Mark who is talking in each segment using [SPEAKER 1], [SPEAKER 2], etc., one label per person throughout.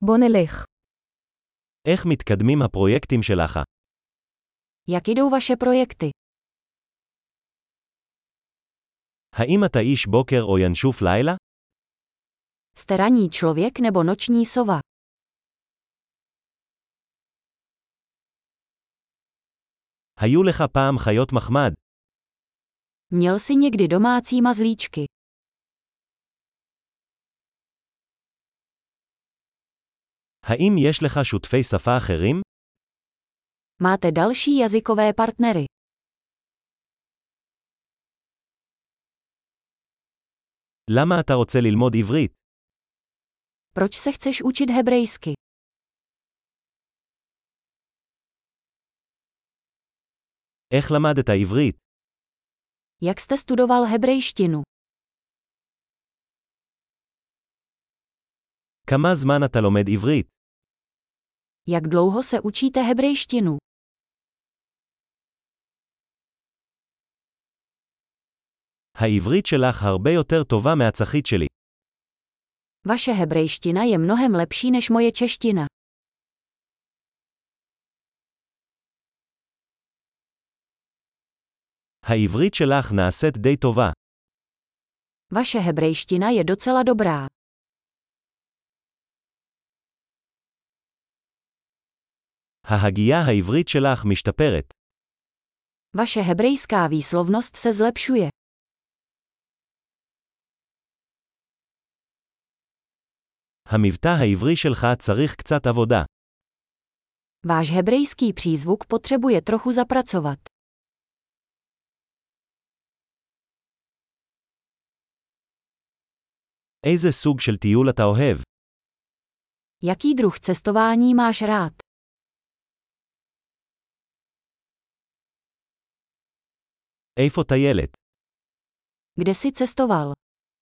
[SPEAKER 1] בוא נלך.
[SPEAKER 2] איך מתקדמים הפרויקטים שלך?
[SPEAKER 1] Jak jdou vaše projekty?
[SPEAKER 2] האם אתה איש בוקר או ינשוף לילה?
[SPEAKER 1] Jste ranní člověk nebo noční sova?
[SPEAKER 2] היו לך פעם חיות מחמד?
[SPEAKER 1] Měl jsi někdy domácí mazlíčky?
[SPEAKER 2] האם יש לך שותפי שפה אחרים?
[SPEAKER 1] Máte další jazykové partnery?
[SPEAKER 2] למה אתה רוצה ללמוד עברית?
[SPEAKER 1] Proč se chceš učit hebrejsky?
[SPEAKER 2] איך למדת עברית?
[SPEAKER 1] Jak jste studoval hebrejštinu?
[SPEAKER 2] כמה זמן אתה לומד עברית?
[SPEAKER 1] Jak dlouho se učíte hebrejštinu?
[SPEAKER 2] העברית שלך הרבה יותר טובה מהצחית שלי.
[SPEAKER 1] Vaše hebrejština je mnohem lepší než moje čeština.
[SPEAKER 2] העברית שלך נעשית די טובה.
[SPEAKER 1] Vaše hebrejština je docela dobrá.
[SPEAKER 2] ההגייה העברית שלך משתפרת.
[SPEAKER 1] Vaše hebrejská výslovnost se zlepšuje.
[SPEAKER 2] המבטא העברי שלך צריך קצת עבודה.
[SPEAKER 1] Váš hebrejský přízvuk potřebuje trochu zapracovat.
[SPEAKER 2] איזה סוג של טיול אתה אוהב?
[SPEAKER 1] Jaký druh cestování máš rád?
[SPEAKER 2] איפה טיילת?
[SPEAKER 1] Kde jsi cestoval?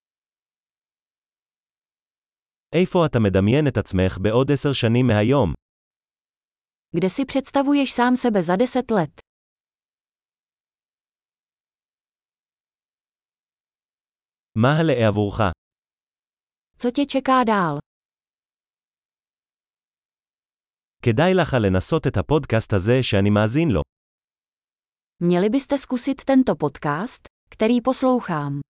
[SPEAKER 2] איפה אתה מדמיין את עצמך בעוד 10 שנים מהיום?
[SPEAKER 1] Kde si představuješ sám sebe za 10 let?
[SPEAKER 2] מה הלאה עבורך?
[SPEAKER 1] Co tě čeká dál?
[SPEAKER 2] כדאי לך לנסות את הפודקאסט הזה שאני מאזין לו.
[SPEAKER 1] Měli byste zkusit tento podcast, který poslouchám.